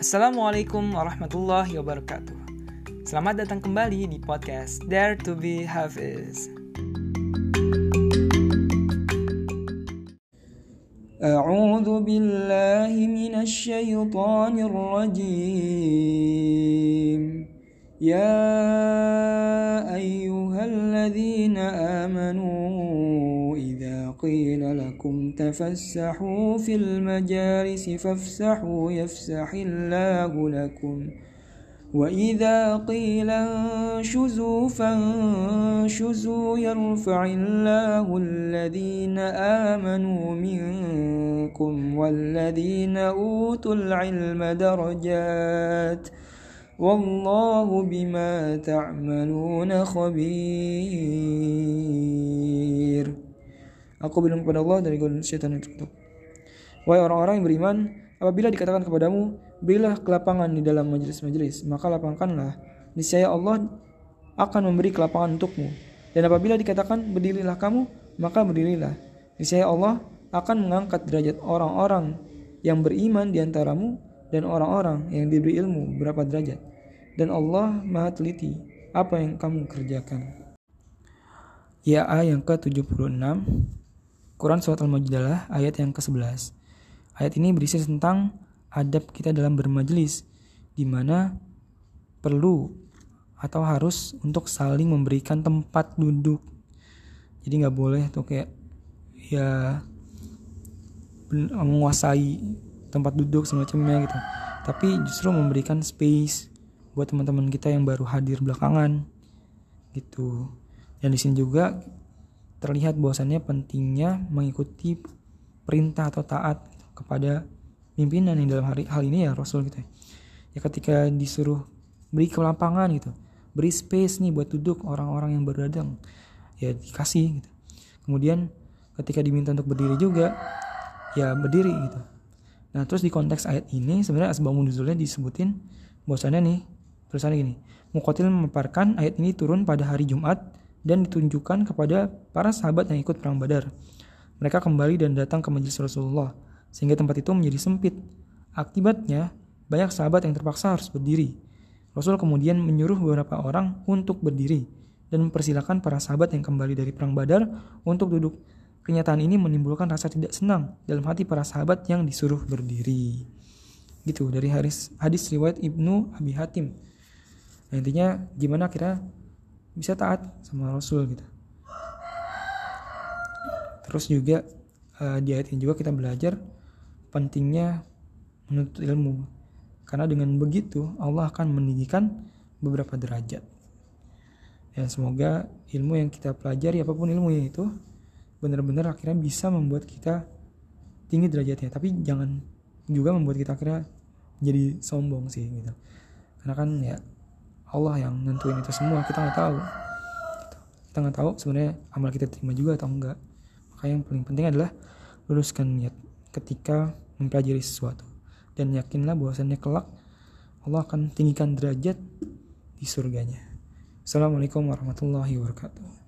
Assalamualaikum warahmatullahi wabarakatuh. Selamat datang kembali di podcast Dare to be Hafiz. A'udzu billahi minasy syaithanir rajim. Ya ayyuhalladzina amanu idza qila lakum tafassahu fil majalisi fafsahu yafsahillahu lakum wa idza qila anshuzu fanshuzu yarfa'illahu alladhina amanu minkum walladhina utul ilma darajat wallahu bima ta'maluna khabir. Aku berlindung kepada Allah dari godaan syaitan yang terkutuk. Wahai orang-orang yang beriman, apabila dikatakan kepadamu, berilah kelapangan di dalam majelis-majelis, maka lapangkanlah. Niscaya Allah akan memberi kelapangan untukmu. Dan apabila dikatakan berdirilah kamu, maka berdirilah. Niscaya Allah akan mengangkat derajat orang-orang yang beriman di antaramu dan orang-orang yang diberi ilmu berapa derajat. Dan Allah Maha teliti apa yang kamu kerjakan. Ya yang ke-76 Quran Surat Al-Mujadalah ayat yang ke-11. Ayat ini berisi tentang adab kita dalam bermajelis, di mana perlu atau harus untuk saling memberikan tempat duduk. Jadi nggak boleh tuh kayak ya menguasai tempat duduk semacamnya gitu. Tapi justru memberikan space buat teman-teman kita yang baru hadir belakangan gitu. Dan di sini juga terlihat bahwasannya pentingnya mengikuti perintah atau taat kepada pimpinan yang dalam hal ini ya Rasul gitu ya. Ya ketika disuruh beri kelapangan gitu, beri space nih buat duduk orang-orang yang baru datang, ya dikasih gitu. Kemudian ketika diminta untuk berdiri juga, ya berdiri gitu. Nah terus di konteks ayat ini sebenarnya asbabun nuzulnya disebutin bahwasannya nih tulisannya gini, Muqatil memaparkan ayat ini turun pada hari Jumat dan ditunjukkan kepada para sahabat yang ikut perang Badar. Mereka kembali dan datang ke majelis Rasulullah, sehingga tempat itu menjadi sempit. Akibatnya, banyak sahabat yang terpaksa harus berdiri. Rasul kemudian menyuruh beberapa orang untuk berdiri, dan mempersilahkan para sahabat yang kembali dari perang Badar untuk duduk. Kenyataan ini menimbulkan rasa tidak senang dalam hati para sahabat yang disuruh berdiri. Gitu, dari hadis riwayat Ibnu Abi Hatim. Nah, intinya gimana kira bisa taat sama Rasul gitu. Terus juga di ayat ini juga kita belajar pentingnya menuntut ilmu, karena dengan begitu Allah akan meninggikan beberapa derajat. Dan semoga ilmu yang kita pelajari, apapun ilmunya itu, benar-benar akhirnya bisa membuat kita tinggi derajatnya. Tapi jangan juga membuat kita akhirnya jadi sombong sih gitu. Karena kan ya Allah yang nentuin itu semua, kita nggak tahu. Kita nggak tahu sebenarnya amal kita terima juga atau enggak. Maka yang paling penting adalah luruskan niat ketika mempelajari sesuatu, dan yakinlah bahwasannya kelak Allah akan tinggikan derajat di surganya. Assalamualaikum warahmatullahi wabarakatuh.